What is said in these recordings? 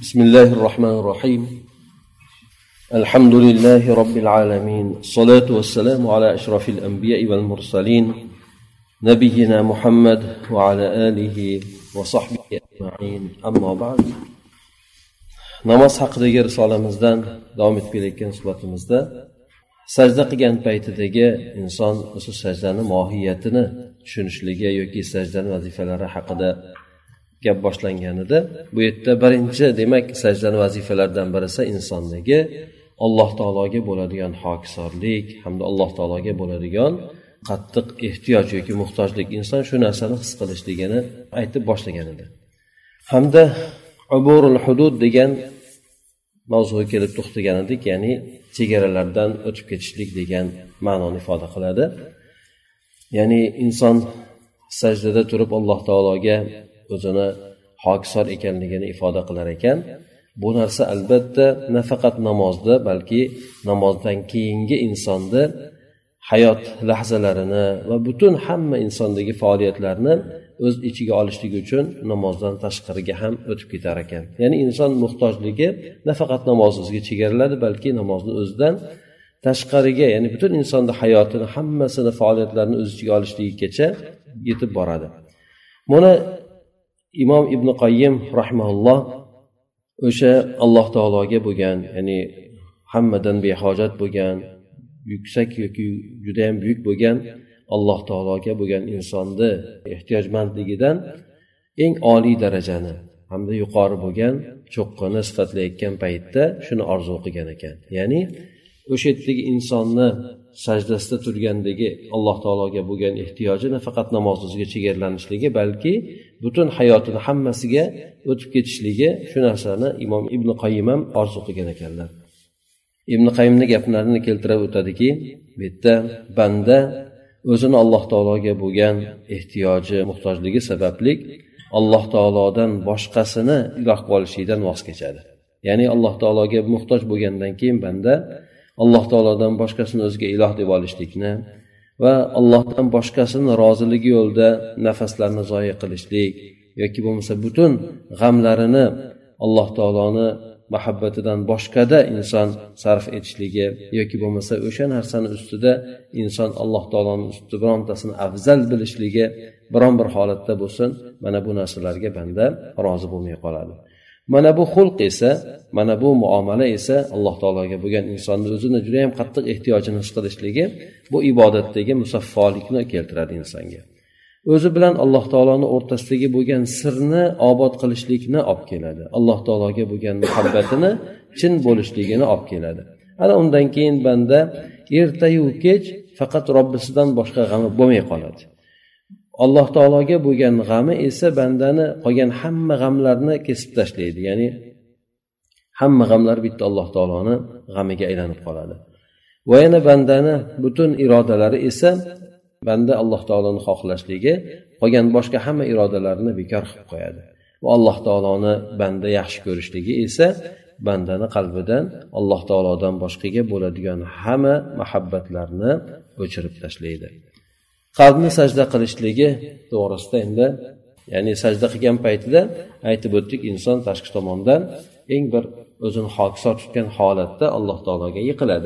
بسم الله الرحمن الرحيم الحمد لله رب العالمين الصلاة والسلام على أشرف الأنبياء والمرسلين نبينا محمد وعلى آله وصحبه أجمعين أما بعد namoz haqidagi risolamizdan davom etib kelayotgan suhbatimizda sajda qilgan paytidagi inson o'sha sajdani mohiyatini tushunishligi yoki sajdani vazifalari haqida gap boshlanganida bu yerda birinchi demak sajdani vazifalaridan birisi insondagi Alloh taologa bo'ladigan hokisorlik hamda Alloh taologa bo'ladigan qattiq ehtiyoj yoki muhtojlik inson shu narsani his qilishligini aytib boshlagan edi. Hamda uburul hudud degan mavzuga kelib to'xtagan edik, ya'ni chegaralardan o'tib ketishlik degan ma'noni ifoda qiladi. Ya'ni inson sajdada turib Alloh taologa o'zini hokisor ekanligini ifoda qilar ekan. Bu narsa albatta nafaqat namozda, balki namozdan keyingi insonni hayot lahzalarini va butun hamma insondagi faoliyatlarni o'z ichiga olishligi uchun namozdan tashqariga ham o'tib ketar ekan. Ya'ni inson muhtojligi nafaqat namozga chegariladi, balki namozni o'zidan tashqariga, ya'ni butun insonning hayotini, hammasini, faoliyatlarini o'z ichiga olishligigacha yetib boradi. Buni Imom Ibn Qayyim rahimahulloh o'sha Alloh taologa bo'lgan, ya'ni hammadan behojat bo'lgan, yuksak yoki juda ham buyuk bo'lgan Alloh taologa bo'lgan insonni ehtiyojmandligidan eng oliy darajani hamda yuqori bo'lgan cho'qqini sifatlayotgan paytda shuni orzu qilgan ekan. Ya'ni o'sha yerdagi insonni sajdasida turgandagi Alloh taologa bo'lgan ehtiyoji nafaqat namozga chegaranishligi, balki butun hayotini hammasiga o'tib ketishligi, shu narsani Imom Ibn Qayyim ham orzu qilgan ekanlar. Ibn Qayyimning gaplarini keltirib o'tadiki, bu yerda banda o'zini Alloh taologa bo'lgan ehtiyoji, muhtojligi sababli Alloh taolodan boshqasini iloh qilishlikdan voz kechadi. Ya'ni Alloh taologa muhtoj bo'lgandan keyin banda Alloh taolodan boshqasini o'ziga iloh deb olishlikni va Allohdan boshqasini roziligi yo'lida nafaslarni zoya qilishlik yoki bo'lmasa butun g'amlarini Alloh taoloni muhabbatidan boshqada inson sarf etishligi yoki bo'lmasa o'sha narsani ustida inson Alloh taoloning ustida birontasini afzal bilishligi biron bir holatda bo'lsin, mana bu narsalarga banda rozi bo'lmay qoladi. Mana bu xulq esa, mana bu muomala esa Alloh taologa bo'lgan insonni o'zini juda ham qattiq ehtiyojini his qilishligi, bu ibodatdagi musaffolikni keltiradi insonga. O'zi bilan Alloh taoloning o'rtasidagi bo'lgan sirni obod qilishlikni olib keladi. Alloh taologa bo'lgan muhabbatini chin bo'lishligini olib keladi. Ana undan keyin banda ertayu kech faqat Robbisidan boshqa g'ami bo'lmay qoladi. Alloh taologa bo'lgan g'ami esa bandani qolgan hamma g'amlarni kesib tashlaydi. Ya'ni hamma g'amlar bitta Alloh taoloning g'amiga aylanib qoladi. Va yana bandani butun irodalari esa banda Alloh taoloni xohlashligi qolgan boshqa hamma irodalarini bekor qilib qo'yadi. Va Alloh taoloni banda yaxshi ko'rishligi esa bandani qalbidan Alloh taolodan boshqaga bo'ladigan hamma muhabbatlarni o'chirib tashlaydi. Qalbni sajda qilishligi to'g'risida endi, ya'ni sajda qilgan paytida aytib o'tdik, inson tashqi tomondan eng bir o'zini hokisor tutgan holatda Alloh taologa yiqiladi.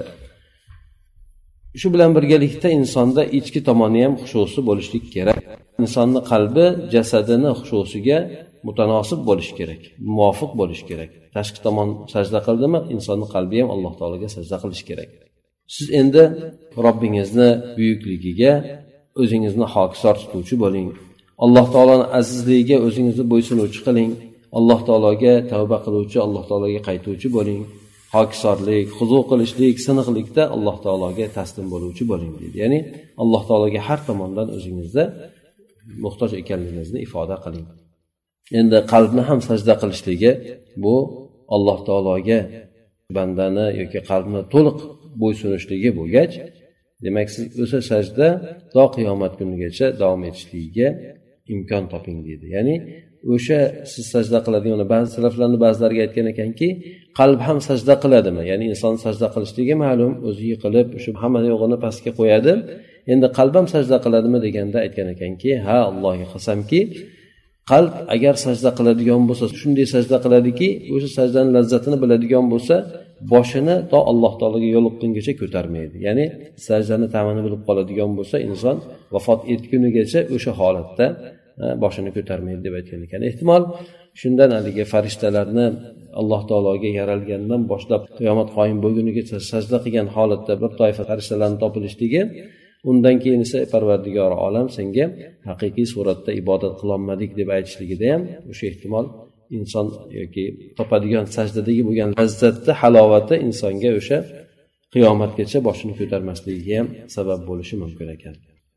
Shu bilan birgalikda insonda ichki tomoni ham xushusi bo'lishlik kerak. Insonning qalbi jasadini xushosiga mutanosib bo'lishi kerak, muvofiq bo'lishi kerak. Tashqi tomon sajda qildimi, insonning qalbi ham Alloh taologa sajda qilishi kerak. Siz endi Robbingizni buyukligiga o'zingizni hokisor tutuvchi bo'ling. Alloh taoloning azizligiga o'zingizni bo'ysunuvchi qiling. Alloh taologa tavba qiluvchi, Alloh taologa qaytuvchi bo'ling. Hokisorlik, huzu qilishlik, siniqlikda Alloh taologa taslim bo'luvchi bo'ling deydi. Ya'ni Alloh taologa har tomondan o'zingizda muhtoj ekanligingizni ifoda qiling. Endi qalbni ham sajda qilishligi, bu Alloh taologa bandani yoki qalbni to'liq bo'ysunishligi bo'lgach, demak siz o'sha sajda to qiyomat kunigacha davom etishligiga imkon toping deydi. Ya'ni o'sha siz sajda qiladigan, ba'zi salaflarning ba'zilariga aytgan ekanki, qalb ham sajda qiladimi? Ya'ni inson sajda qilishligi ma'lum, o'zi yiqilib, shu hamma yo'g'ini pastga qo'yadi. Endi qalb ham sajda qiladimi deganda aytgan ekanki, ha, Allohga qasamki, qalb agar sajda qiladigan bo'lsa, shunday sajda qiladiki, o'sha sajdaning lazzatini biladigan bo'lsa, boshini to Alloh taologa yo'liqqungacha ko'tarmaydi. Ya'ni sajdani ta'mini bilib qoladigan bo'lsa, inson vafot etgunigacha o'sha holatda boshini ko'tarmaydi deb aytgan ekan. Ehtimol shundan haligi farishtalarni Alloh taologa yaralgandan boshlab qiyomat qoyim bo'lgunigacha sajda qilgan holatda bir toifa farishtalarning topilishligi, undan keyin esa Parvardigor olam senga haqiqiy suratda ibodat qilolmadik deb aytishligida ham o'sha ehtimol inson yoki topadigan sajdadagi bo'lgan lazzatni halovati insonga o'sha qiyomatgacha boshini ko'tarmasligiga ham sabab bo'lishi mumkin ekan.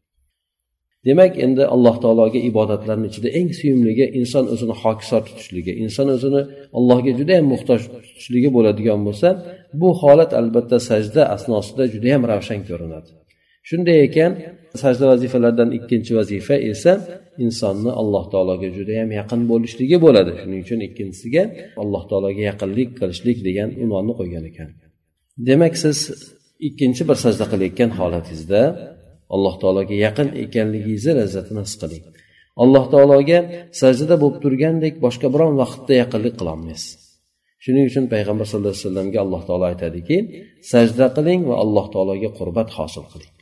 Demak, endi Alloh taologa ibodatlarning ichida eng suyumligi inson o'zini hokisor tutishligi, inson o'zini Allohga juda ham muhtoj tutishligi bo'ladigan bo'lsa, bu holat albatta sajda asnosida juda ham ravshan ko'rinadi. Shunday ekan, sajda vazifalaridan ikkinchi vazifa esa insonni Alloh taologa juda ham yaqin bo'lishligi bo'ladi. Shuning uchun ikkinchisiga Alloh taologa yaqinlik qilishlik degan unvonni qo'ygan ekan. Demak, siz ikkinchi bir sajda qilayotgan holatingizda Alloh taologa yaqin ekanligingizni lazzatini his qiling. Alloh taologa sajdada bo'lib turgandek boshqa biron vaqtda yaqinlik qila olmaysiz. Shuning uchun payg'ambar sollallohu alayhi vasallamga Alloh taolo aytadiki, sajda qiling va Alloh taologa qurbat hosil qiling.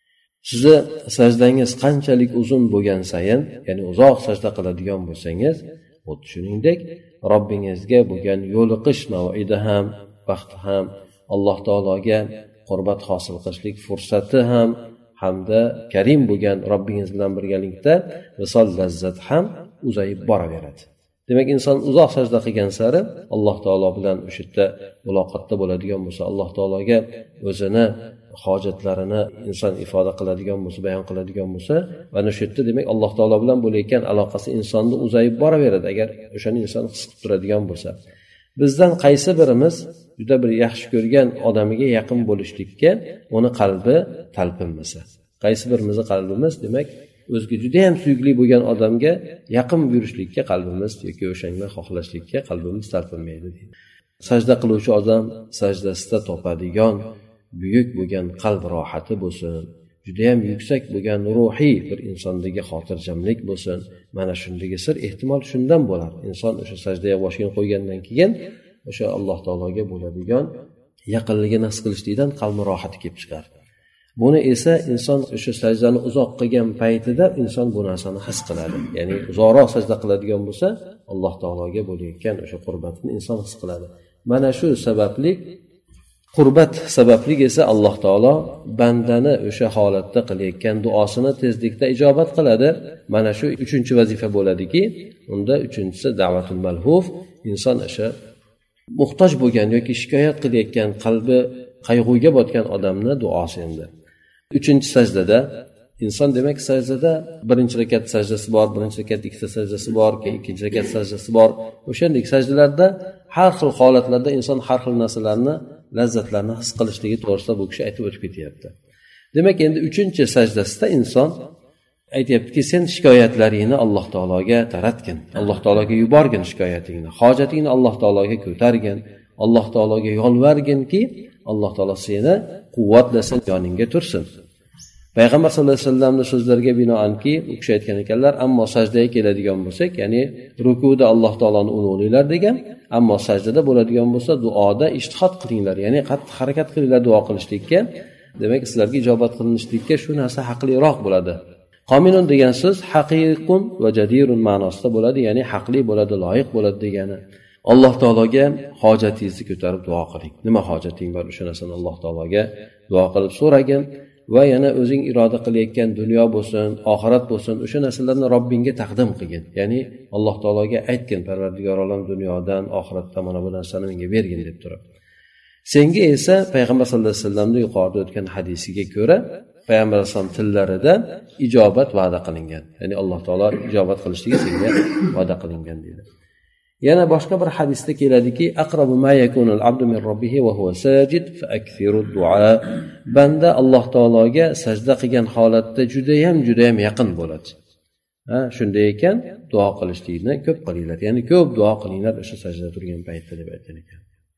Sizni sajdangiz qanchalik uzun bo'lgan sayin, ya'ni uzoq sajda qiladigan bo'lsangiz, xuddi shuningdek Robbingizga bo'lgan yo'liqish mav'idi ham, vaqti ham, Alloh taologa qurbat hosil qilishlik fursati ham hamda karim bo'lgan Robbingiz bilan birgalikda visol lazzat ham uzayib boraveradi. Demak, inson uzoq sajda qilgan sari Alloh taolo bilan o'sha yerda muloqotda bo'ladigan bo'lsa, Alloh taologa o'zini hojatlarini inson ifoda qiladigan bo'lsa, bayon qiladigan bo'lsa, mana shu yerda demak Alloh taolo bilan bo'layotgan aloqasi insonni uzayib boraveradi agar o'shani inson his qilib turadigan bo'lsa. Bizdan qaysi birimiz juda bir yaxshi ko'rgan odamiga yaqin bo'lishlikka uni qalbi talpinmasa, qaysi birimizni qalbimiz demak o'ziga juda ham suyukli bo'lgan odamga yaqin yurishlikka qalbimiz yoki o'shanga xohlashlikka qalbimiz talpinmaydi deydi. Sajda qiluvchi odam sajdasida topadigan buyuk bo'lgan qalb rohati bo'lsin, juda ham yuksak bo'lgan ruhiy bir insondagi xotirjamlik bo'lsin. Mana shundagi sir ehtimol shundan bo'lar. Inson o'sha sajdaga boshini qo'ygandan keyin o'sha Alloh taologa bo'ladigan yaqinligini his qilishlikdan qalbi rohati kelib chiqar. Buni esa inson o'sha sajdani uzoq qilgan paytida inson bu narsani his qiladi. Ya'ni uzoqroq sajda qiladigan bo'lsa, Alloh taologa bo'layotgan o'sha qurbatni inson his qiladi. Mana shu sababli qurbat sababli esa Alloh taolo bandani o'sha holatda qilayotgan duosini tezlikda ijobat qiladi. Mana shu uchinchi vazifa bo'ladiki, unda uchinchisi da'vatul malhuf, inson o'sha muhtoj bo'lgan yoki shikoyat qilayotgan qalbi qayg'uga botgan odamni duosi endi. Uchinchi sajdada inson demak sajdada birinchi rakat sajdasi bor, birinchi rakat ikkita sajdasi bor, ikkinchi rakat sajdasi bor. O'shandek sajdalarda har xil holatlarda inson har xil narsalarni lazzatlarni his qilishligi to'g'risida bu kishi aytib o'tib ketyapti. Demak, endi uchinchi sajdasida inson aytayaptiki, sen shikoyatlaringni Alloh taologa taratgin, Alloh taologa yuborgin shikoyatingni, hojatingni Alloh taologa ko'targin, Alloh taologa yolvarginki, Alloh taolo seni quvvatlasin, yoningga tursin. Payg'ambar sollallohu alayhi vasallamning so'zlariga binoanki, u kishi aytgan ekanlar, ammo sajdaga keladigan bo'lsak, ya'ni rukuda Alloh taoloni ulug'langlar degan, ammo sajdada bo'ladigan bo'lsa, duoda ijtihod qilinglar, ya'ni qattiq harakat qilinglar duo qilishlikka. Demak, sizlarga ijobat qilinishlikka shu narsa haqliroq bo'ladi. Qominun degan so'z haqiqun va jadirun ma'nosida bo'ladi, ya'ni haqli bo'ladi, loyiq bo'ladi degani. Alloh taologa hojatingizni ko'tarib duo qiling. Nima hojating bor, o'sha narsani Alloh taologa duo qilib so'ragin va yana o'zing iroda qilayotgan dunyo bo'lsin, oxirat bo'lsin, o'sha narsalarni Robbingga taqdim qilgin. Ya'ni Alloh taologa aytgin, Parvardigor olam dunyodan, oxiratdan mana bu narsani menga bergin deb turib. Senga esa payg'ambar sollallohu alayhi vasallamning yuqorida o'tgan hadisiga ko'ra payg'ambar alayhisalom tillarida ijobat va'da qilingan. Ya'ni Alloh taolo ijobat qilishligi senga va'da qilingan deydi. Yana boshqa bir hadisda keladiki, aqrabu ma yakunul abdu min robbihi va huwa sajid fa akthiru du'a. Banda Alloh taologa sajda qilgan holatda juda ham yaqin bo'ladi. Shunday ekan, duo qilishlikni ko'p qilinglar. Ya'ni ko'p duo qilinglar o'sha sajdada turgan paytda deb aytgan ekan.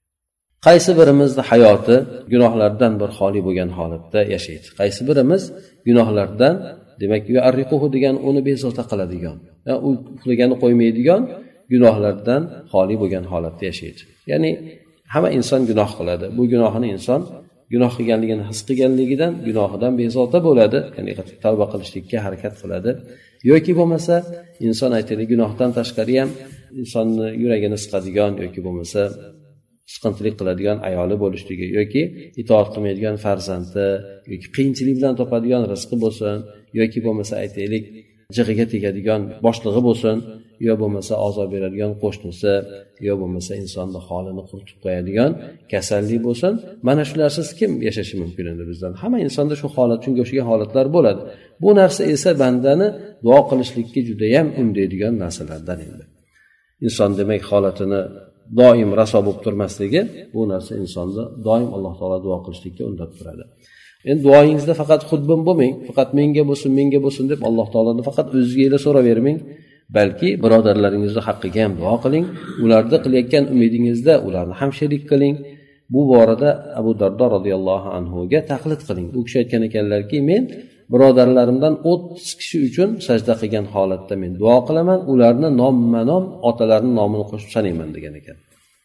Qaysi birimizning hayoti gunohlardan bir xoli bo'lgan holatda yashaydi? Qaysi birimiz gunohlardan demak yu'arriquhu degan uni bezovta qiladigan, u uxlaganni qo'ymaydigan gunohlardan xoli bo'lgan holatda yashaydi. Ya'ni hamma inson gunoh qiladi. Bu gunohini inson gunoh qilganligini his qilganligidan gunohidan bezovta bo'ladi, ya'ni tavba qilishlikka harakat qiladi. Yoki bo'lmasa inson aytaylik gunohdan tashqari ham insonni yuragini siqadigan yoki bo'lmasa siqintilik qiladigan ayoli bo'lishligi yoki itoat qilmaydigan farzandi yoki qiyinchilik bilan topadigan rizqi bo'lsin yoki bo'lmasa aytaylik jig'iga tegadigan boshlig'i bo'lsin yo bo'lmasa azob beradigan qo'shnisi yo bo'lmasa insonni holini quritib qo'yadigan kasallik bo'lsin, mana shularsiz kim yashashi mumkin endi bizdan? Hamma insonda shu holat, shunga o'xshagan holatlar bo'ladi. Bu narsa esa bandani duo qilishlikka juda ham undaydigan narsalardan endi. Inson demak holatini doim raso bo'lib turmasligi, bu narsa insonni doim Alloh taolo duo qilishlikka undab turadi. Endi duoyingizda faqat xudbin bo'lmang, faqat menga bo'lsin deb Alloh taolodan faqat o'zingizga so'ravermang, balki birodarlaringizni haqqiga ham duo qiling, ularda qilayotgan umidingizda ularni ham sherik qiling. Bu borada Abu Dardo radhiyallohu anhuga taqlid qiling. U kishi aytgan ekanlarki, men birodarlarimdan 30 kishi uchun sajda qilgan holatda men duo qilaman, ularni nomma-nom otalarining nomini qo'shib sanayman degan ekan.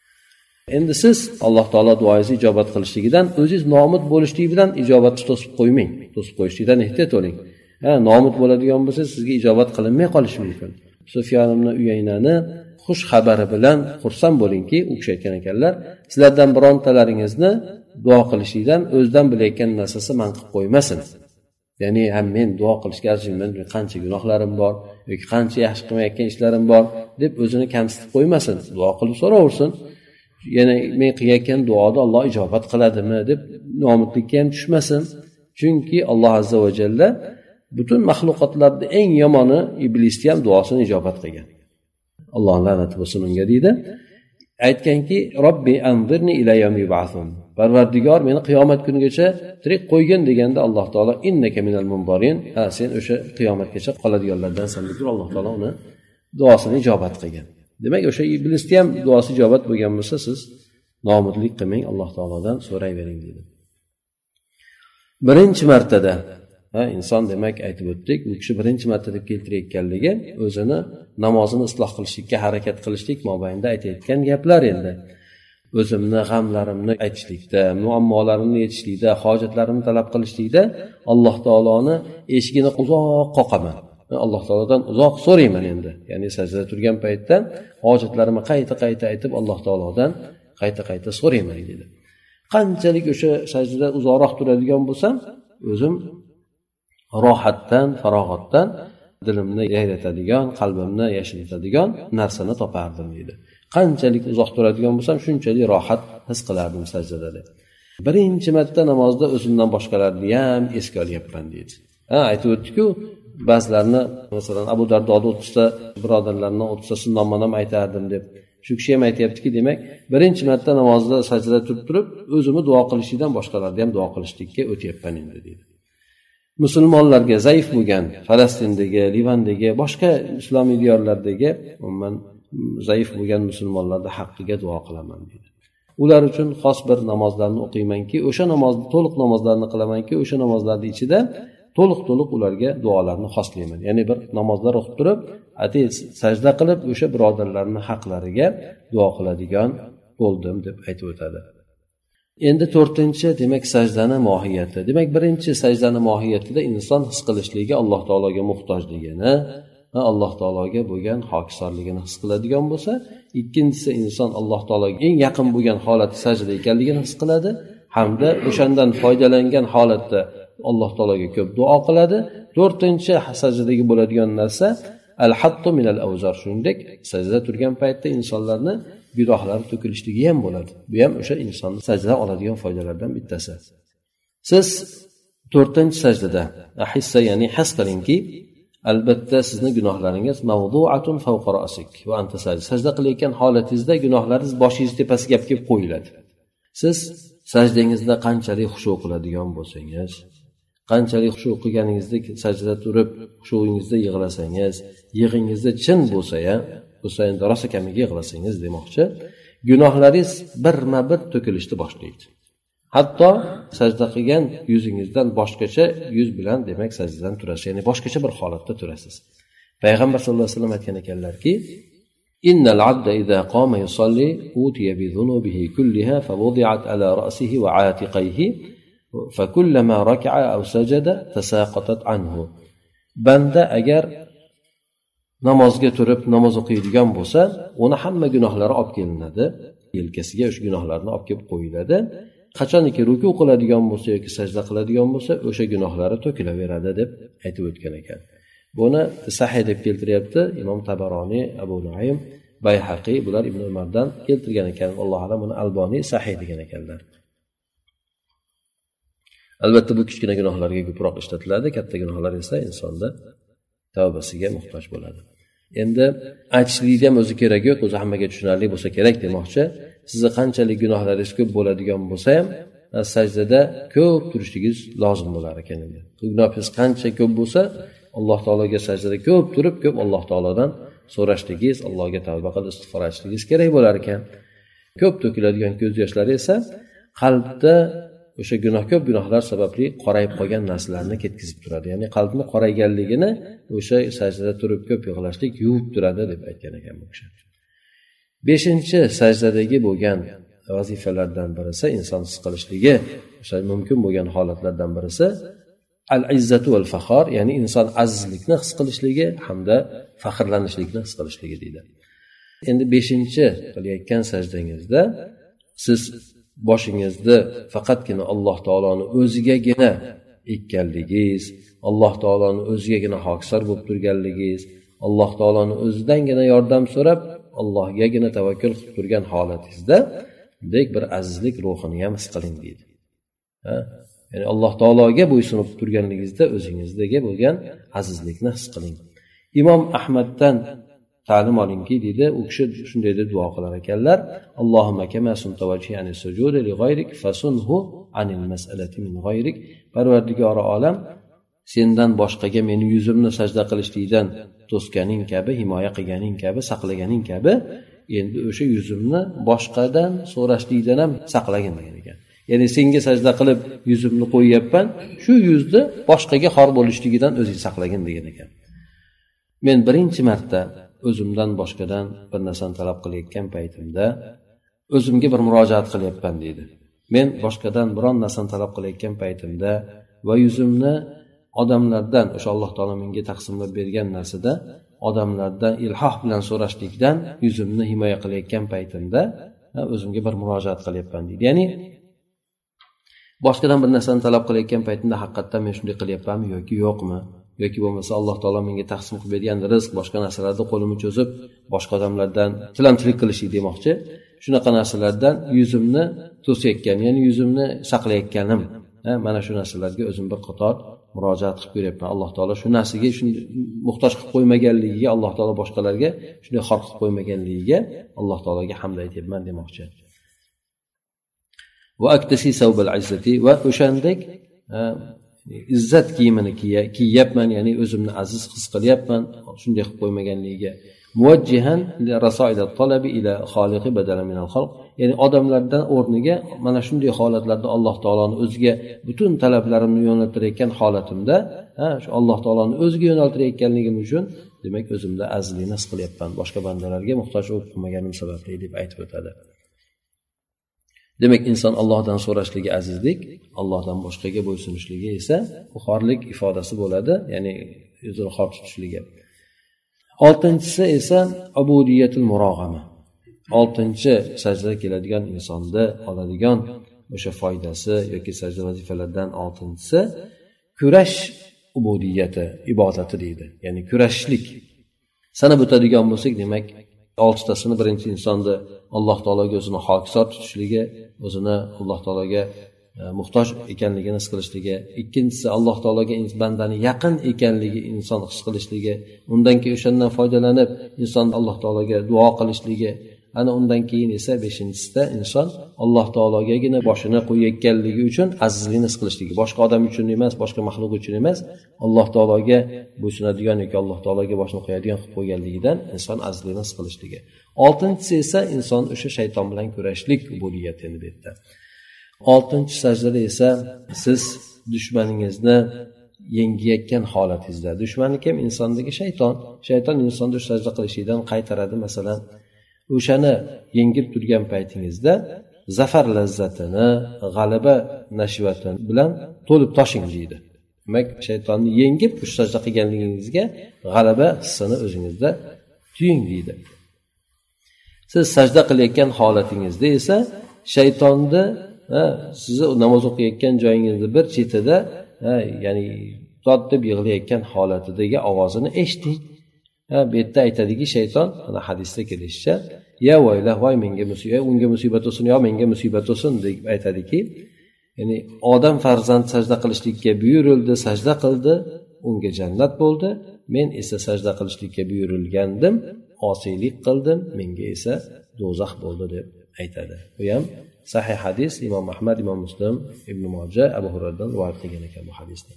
Endi siz Alloh taolo duoingizni ijobat qilishligidan o'zingiz nomid bo'lishlik bilan ijobatni to'sib qo'ymang. To'sib qo'yishlikdan ehtiyot bo'ling. Nomid bo'ladigan bo'lsa sizga ijobat qilinmay qolishi mumkin. Sufyon ibn Uyaynani xush xabari bilan xursand bo'lingki, u kishi aytgan ekanlar, sizlardan birontalaringizni duo qilishlikdan o'zidan bilayotgan narsasi man qilib qo'ymasin. Ya'ni ham men duo qilishga arziyman, qancha gunohlarim bor yoki qancha yaxshi qilmayotgan ishlarim bor deb o'zini kamsitib qo'ymasin. Duo qilib so'raversin. Yana men qilayotgan duoda Alloh ijobat qiladimi deb nomidlikka ham tushmasin. Chunki Alloh azza va jalla butun maxluqotlarda eng yomoni iblisni ham duosini ijobat qilgan. Alloh la'nati bo'lsin unga deydi. Aytganki, Robbi anzirni ila yawmi yub'athun. Parvardigor meni qiyomat kunigacha tirik qo'ygin deganda Alloh taolo innaka minal munzirin, sen o'sha qiyomatgacha qoladiganlardansan deb Alloh taolo uni duosini ijobat qilgan. Demak, o'sha iblisni ham duosi ijobat bo'lgan bo'lsa, siz nomidlik qilmang, Alloh taolodan so'rayvering dedi. Birinchi martada inson demak aytib o'tdik, u kishi birinchi marta deb keltirayotganligi o'zini namozini isloh qilishlikka harakat qilishlik mobaynida aytayotgan gaplar endi. O'zimni g'amlarimni aytishlikda, muammolarimni yechishlikda, hojatlarimni talab qilishlikda Alloh taoloni eshigini uzoq qoqaman. Alloh taolodan uzoq so'rayman endi. Ya'ni sajdada turgan paytda hojatlarimni qayta aytib Alloh taolodan qayta so'rayman dedi. Qanchalik o'sha sajdada uzoqroq turadigan bo'lsam, o'zim rohatdan, farog'atdan dilimni yayratadigan, qalbimni yashiritadigan narsani topardim dedi. Qanchalik uzoq turadigan bo'lsam, shunchalik rohat his qilardim sajdada deb. Birinchi marta namozda o'zimdan boshqalarni ham esga olyapman dedi. Aytib o'tdik-ku, ba'zilarni masalan Abu Dardoda 30 ta birodarlarni 30 tasini nomma-nom aytardim deb. Shu kishi ham aytayaptiki, demak, birinchi marta namozda sajdada turib, o'zimni duo qilishdan boshqalarni ham duo qilishlikka o'tyapman endi dedi. Musulmonlarga zaif bo'lgan Falastindagi, Livandagi, boshqa islomiy diyorlardagi umuman zaif bo'lgan musulmonlarning haqqiga duo qilaman dedi. Ular uchun xos bir namozlarni o'qiymanki, o'sha namozni to'liq namozlarni qilamanki, o'sha namozlarning ichida to'liq ularga duolarni xoslayman. Ya'ni bir namozlar o'qib turib, sajda qilib o'sha birodarlarning haqlariga duo qiladigan bo'ldim deb aytib o'tadi. Endi 4-chi demak sajdani mohiyati. Demak, birinchi sajdani mohiyatida inson his qilishligi Alloh taologa muhtojligini, Alloh taologa bo'lgan hokisorligini his qiladigan bo'lsa, ikkinchisi inson Alloh taologa eng yaqin bo'lgan holatda sajdada ekanligini his qiladi hamda o'shandan foydalangan holatda Alloh taologa ko'p duo qiladi. 4-chi sajdadagi bo'ladigan narsa al-hattu minal awzar, shuningdek sajdada turgan paytda insonlarni gunohlari to'kilishligi ham bo'ladi. Bu ham o'sha insonni sajdadan oladigan foydalardan bittasi. Siz 4-chi sajdada ahissa, ya'ni his qilingki, albatta sizni gunohlaringiz mavdu'atun fawqa ra'sik va anta sajda qilayotgan holatingizda gunohlaringiz boshingiz tepasiga kelib qo'yiladi. Siz sajdangizda qanchalik xushu qiladigan bo'lsangiz, qanchalik xushu qilganingizda sajdada turib, xushuingizda yig'lasangiz, yig'ingizda chin bo'lsa endi rosa kamiga yig'lasangiz demoqchi, gunohlaringiz birma-bir to'kilishni boshlaydi. Hatto sajda qilgan yuzingizdan boshqacha yuz bilan demak sajdadan turasiz, ya'ni boshqacha bir holatda turasiz. Payg'ambar sollallohu alayhi vasallam aytgan ekanlarki, innal abda idza qama yusalli utiya bi dhunubihi kulliha fa wudi'at ala ra'sihi wa 'atiqihi fa kullama raka'a aw sajada tasaqatat anhu. Banda agar namozga turib namoz o'qiydigan bo'lsa, uni hamma gunohlari olib kelinadi, yelkasiga o'sha gunohlarni olib kelib qo'yiladi. Qachonki ruku qiladigan bo'lsa yoki sajda qiladigan bo'lsa, o'sha gunohlari to'kilaveradi deb aytib o'tgan ekan. Buni sahih deb keltiryapti Imom Tabaroniy, Abu Nuaym, Bayhaqiy, bular Ibn Umardan keltirgan ekan. Alloh alam, buni Alboniy sahih degan ekanlar. Albatta bu kichkina gunohlarga ko'proq ishlatiladi, katta gunohlar esa insonda tavbasiga muhtoj bo'ladi. Endi aytishlikda ham o'zi kerak yo'q, o'zi hammaga tushunarli bo'lsa kerak demoqchi. Sizni qanchalik gunohlaringiz ko'p bo'ladigan bo'lsa ham, sajdada ko'p turishligingiz lozim bo'lar ekan. Endi gunohingiz qancha ko'p bo'lsa, Alloh taologa sajdada ko'p turib, ko'p Alloh taolodan so'rashligingiz, Allohga tavba qilib istig'for aytishligingiz kerak bo'lar ekan. Ko'p to'kiladigan ko'z yoshlari esa qalbda o'sha ko'p gunohlar sababli qorayib qolgan narsalarni ketkizib turadi. Ya'ni qalbni qorayganligini o'sha sajdada turib ko'p yig'lashlik yuvib turadi deb aytgan ekan bu kishi. 5-chi sajdadagi bo'lgan vazifalardan birisi, inson his qilishligi, o'sha mumkin bo'lgan holatlardan birisi al-izzatu val faxor, ya'ni inson azizlikni his qilishligi hamda faxrlanishlikni his qilishligi deydi. Endi 5-chi qilayotgan sajdangizda siz boshingizni faqatgina Alloh taoloni o'zigagina ekkanligingiz, Alloh taoloni o'zigagina hokisor bo'lib turganligingiz, Alloh taoloni o'zidangina yordam so'rab, Allohgagina tavakkul qilib turgan holatingizda bunday bir azizlik ruhini ham his qiling deydi. Ya'ni Alloh taologa bo'ysunib turganligingizda o'zingizdagi bo'lgan azizlikni his qiling. Imom Ahmaddan ta'lim olingki deydi, u kishi shunday deb duo qilar ekanlar: Allohumma kama sunta wajhani sujudi li g'ayrik fasunhu anil mas'alati min g'ayrik. Parvardigori olam, sendan boshqaga meni yuzimni sajda qilishlikdan to'sganing kabi, himoya qilganing kabi, saqlaganing kabi, endi o'sha yuzimni boshqadan so'rashlikdan ham saqlagin degan ekan. Ya'ni senga sajda qilib yuzimni qo'yyapman, shu yuzni boshqaga xor bo'lishligidan o'zing saqlagin degan ekan. Men birinchi marta o'zimdan boshqadan bir narsani talab qilayotgan paytimda o'zimga bir murojaat qilyapman deydi. Men boshqadan biron narsani talab qilayotgan paytimda va yuzimni odamlardan, o'sha Alloh taolo menga taqsimlab bergan narsada odamlardan ilhoh bilan so'rashlikdan yuzimni himoya qilayotgan paytimda o'zimga bir murojaat qilyapman deydi. Ya'ni boshqadan bir narsani talab qilayotgan paytimda haqiqatdan men shunday qilyapmanmi yoki yo'qmi? Yoki bo'lmasa Alloh taolo menga taqsim qilib bergan rizq, boshqa narsalarda qo'limni cho'zib, boshqa odamlardan tilanchilik qilishlik demoqchi. Shunaqa narsalardan yuzimni to'sayotgan, ya'ni yuzimni saqlayotganim, mana shu narsalarga o'zim bir qator murojaat qilib ko'ryapman. Alloh taolo shu narsaga shunday muhtoj qilib qo'ymaganligiga, Alloh taolo boshqalarga shunday xor qilib qo'ymaganligiga Alloh taologa hamd aytyapman demoqchi. Va aktasi savbal izzati, va o'shandek izzat kiyimini kiyyapman, ya'ni o'zimni aziz his qilyapman shunday qilib qo'ymaganligiga. Muvajjihan li rasoil at-talabi ila xoliqi badala min al-xalq, ya'ni odamlardan o'rniga mana shunday holatlarda Alloh taoloni o'ziga butun talablarimni yo'naltirayotgan holatimda, shu Alloh taoloni o'ziga yo'naltirayotganligim uchun demak o'zimda azizlikni his qilyapman, boshqa bandalarga muhtoj bo'lib qolmaganim sababli deb aytib o'tadi. Demak, inson Allohdan so'rashligi azizlik, Allohdan boshqaga bo'ysunishligi esa xorlik ifodasi bo'ladi, ya'ni o'zini xor tutishligi. 6-si esa ubudiyatul murog'ama. 6-chi sajdaga keladigan insonda oladigan o'sha foydasi yoki sajda vazifalaridan 6-si kurash ubudiyati, ibodati deydi. Ya'ni kurashlik. Sanab o'tadigan bo'lsak, demak 6tasini birinchi insonni Alloh taologa o'zini hokisor tutishligi, o'zini Alloh taologa muhtoj ekanligini his qilishligi, ikkinchisi Alloh taologa bandani yaqin ekanligi inson his qilishligi, undan keyin o'shandan foydalanib inson Alloh taologa duo qilishligi, ana undan keyin esa 5-chisida inson Alloh taologagina boshini qo'yayotganligi uchun azizlikni his qilishligi, boshqa odam uchun emas, boshqa maxluq uchun emas, Alloh taologa bo'ysunadigan yoki Alloh taologa boshini qo'yadigan qilib qo'yganligidan inson azizlikni his qilishligi. 6-chisi esa inson o'sha shayton bilan kurashlik ubudiyati endi bu yerda. oltinchi sajdada esa siz dushmaningizni yengayotgan holatingizda, dushmani kim? Insondagi shayton insonni sajda qilishlikdan qaytaradi. Masalan, o'shani yengib turgan paytingizda zafar lazzatini, g'alaba nashvati bilan to'lib toshing deydi. Demak, shaytonni yengib sajda qilganligingizga g'alaba hissini o'zingizda tuying deydi. Siz sajda qilayotgan holatingizda esa shaytonni sizni namoz o'qiyotgan joyingizni bir chetida, ya'ni dod deb yig'layotgan holatidagi ovozini eshiting. Bu yerda aytadiki, shayton, mana hadisda kelishicha, ya vaylah, voy menga musibat, unga musibat bo'lsin, yo menga musibat bo'lsin deb aytadiki, ya'ni odam farzand sajda qilishlikka buyurildi, sajda qildi, unga jannat bo'ldi, men esa sajda qilishlikka buyurilgandim, osiylik qildim, menga esa do'zax bo'ldi deb aytadi. Bu ham sahih hadis, Imom Ahmad, Imom Muslim, Ibn Moja, Abu Hurayradan rivoyat qilgan ekan bu hadisni.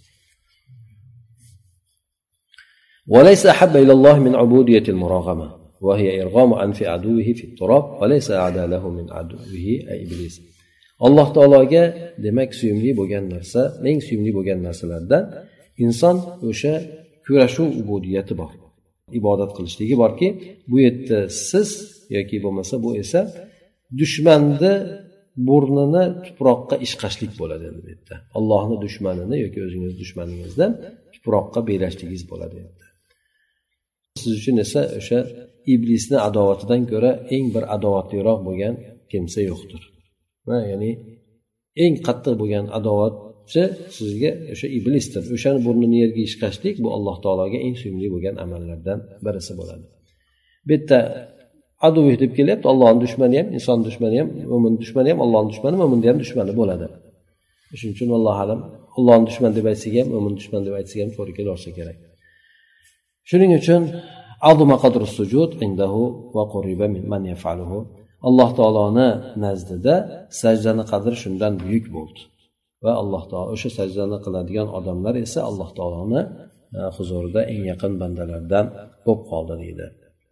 وليس أحب إلى الله من عبودية المراغمة وهي إرغام أنف عدوه في التراب وليس أعدى له من عدوه إبليس. Alloh taologa demak suyumli bo'lgan narsa, eng suyumli bo'lgan narsalardan inson o'sha kurashuv ubudiyati bor. Ibodat qilishligi borki, bu yerda siz yoki bo'lmasa bu esa dushmanni burnini tuproqqa ishqashlik bo'ladi endi bu yerda. Allohning dushmanini yoki o'zingiz dushmaningizdan tuproqqa belashligingiz bo'ladi endi. Siz uchun esa o'sha iblisni adovatidan ko'ra eng bir adovatliroq bo'lgan kimsa yo'qdir. Ya'ni eng qattiq bo'lgan adovatchi sizga o'sha iblisdir. O'shani burnini yerga ishqashlik bu Alloh taologa eng suyumli bo'lgan amallardan birisi bo'ladi. Bu yerda aduv deb kelyapti, Allohning dushmani ham, inson dushmani ham, mo'min dushmani ham, Allohning dushmani, mo'minning ham dushmani bo'ladi. Shuning uchun Alloh alam Allohning dushmani deb aytsak ham, mo'min dushmani deb aytsak ham to'g'ri kelaversa kerak. Shuning uchun azuma qadru sujud indahu va quriba man yaf'aluhu. Alloh taoloni nazdida sajdani qadri shundan buyuk bo'ldi. Va Alloh taolo o'sha sajdani qiladigan odamlar esa Alloh taoloni huzurida eng yaqin bandalardan bo'lib qoldi deydi.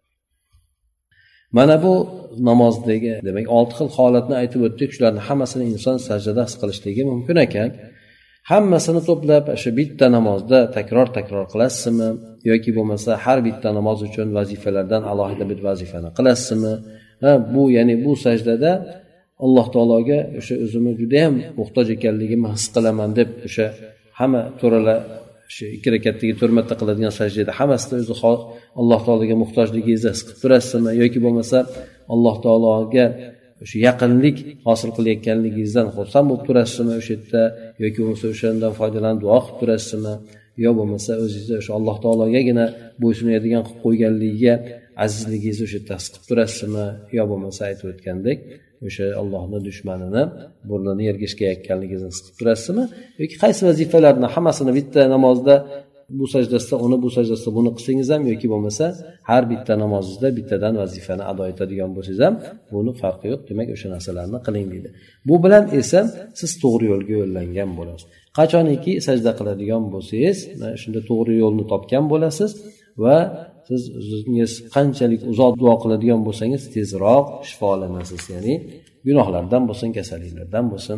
Mana bu namozdagi, demak, 6 xil holatni aytib o'tdik. Shularning hammasini inson sajdada his qilishligi mumkin ekan. Hammasini to'plab o'sha bitta namozda takror qilasizmi yoki bo'lmasa har bitta namoz uchun vazifalardan alohida bir vazifani qilasizmi? Bu ya'ni bu sajdada Alloh taologa o'sha o'zimni juda ham muhtoj ekanligimni his qilaman deb o'sha hamma to'ralar shu 2 rakatdagi 4 marta qiladigan sajdada hammasida o'zi Alloh taologa muhtojligingizni his qilib turasizmi yoki bo'lmasa Alloh taologa o'sha yaqinlik hosil qilayotganligingizdan xursand bo'lib turasizmi o'sha yerda yoki bo'lmasa o'shandan foydalanib duo qilib turasizmi yo bo'lmasa o'zingizni o'sha Alloh taologagina bo'ysunadigan qilib qo'yganligiga azizligingizni o'sha yerda his qilib turasizmi yo bo'lmasa aytib o'tgandek o'sha Allohning dushmanini burnini yerga ishqayotganligingizni his qilib turasizmi yoki qaysi vazifalarni hammasini bitta namozda bu sajdasida uni bu sajdasida buni qilsangiz ham yoki bo'lmasa har bitta namozingizda bittadan vazifani ado etadigan bo'lsangiz ham buni farqi yo'q, demak o'sha narsalarni qiling deydi. Bu bilan esa siz to'g'ri yo'lga yo'llangan bo'lasiz. Qachoniki sajda qiladigan bo'lsangiz, shunda to'g'ri yo'lni topgan bo'lasiz va siz o'zingiz qanchalik uzoq duo qiladigan bo'lsangiz tezroq shifolanasiz, ya'ni gunohlardan bo'lsin, kasalliklardan bo'lsin.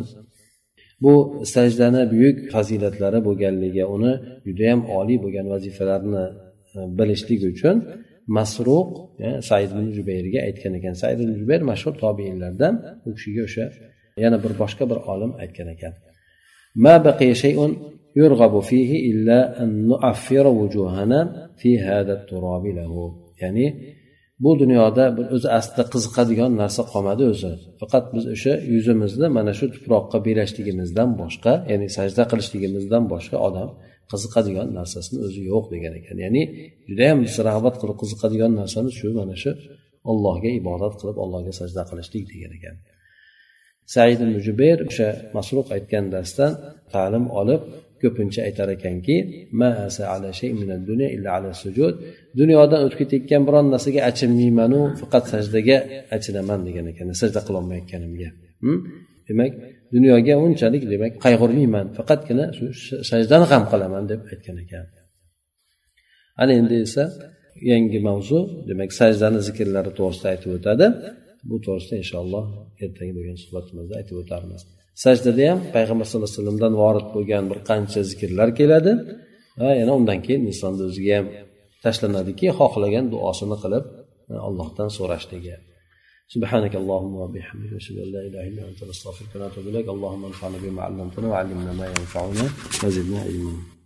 Bu sajdani buyuk fazilatlari bo'lganligi, uni juda ham oliy bo'lgan vazifalarni bilishlik uchun Masruq Said ibn Jubayrga aytgan ekan. Said ibn Jubayr mashhur tobiinlardan, u kishiga o'sha yana bir boshqa bir olim aytgan ekan. Ma baqiya shay'un yurghabu fihi illa an nu'affira wujuhana fi hada at-turabi lahu. Ya'ni bu dunyoda bir o'zi aslida qiziqadigan narsa qolmadi o'zi. Faqat biz o'sha yuzimizni mana shu tuproqqa berishligimizdan boshqa, ya'ni sajda qilishligimizdan boshqa odam qiziqadigan narsasini o'zi yo'q degan ekan. Ya'ni juda ham rag'bat qilib qiziqadigan narsamiz shu mana shu Allohga ibodat qilib Allohga sajda qilishlik degan ekan. Said ibn Jubayr o'sha Masruq aytgan darsdan ta'lim olib ko'pincha aytar ekanki, ma asa ala shay'in min ad-dunya illa ala sujud. Dunyodan o'tib ketayotgan biron narsaga achinmayman-u, faqat sajdaga achinaman degan ekan, sajda qila olmayotganimga. Demak, dunyoga unchalik demak qayg'urmayman, faqatgina shu sajdani ham qilaman deb aytgan ekan. Ana endi esa yangi mavzu, demak sajdani zikrlari to'g'risida aytib o'tadi. bu to'g'risida inshaalloh ertangi bo'lgan suhbatimizda aytib o'tarmiz. Sajdada ham payg'ambar sollallohu alayhi vasallamdan vorid bo'lgan bir qancha zikrlar keladi va yana undan keyin insonni o'ziga ham tashlanadiki, xohlagan duosini qilib Allohdan so'rashligi. سبحانك اللهم وبحمدك اشهد ان لا اله الا انت نستغفرك ونتوب اليك اللهم انفعنا بما علمتنا وعلمنا ما ينفعنا وزدنا علما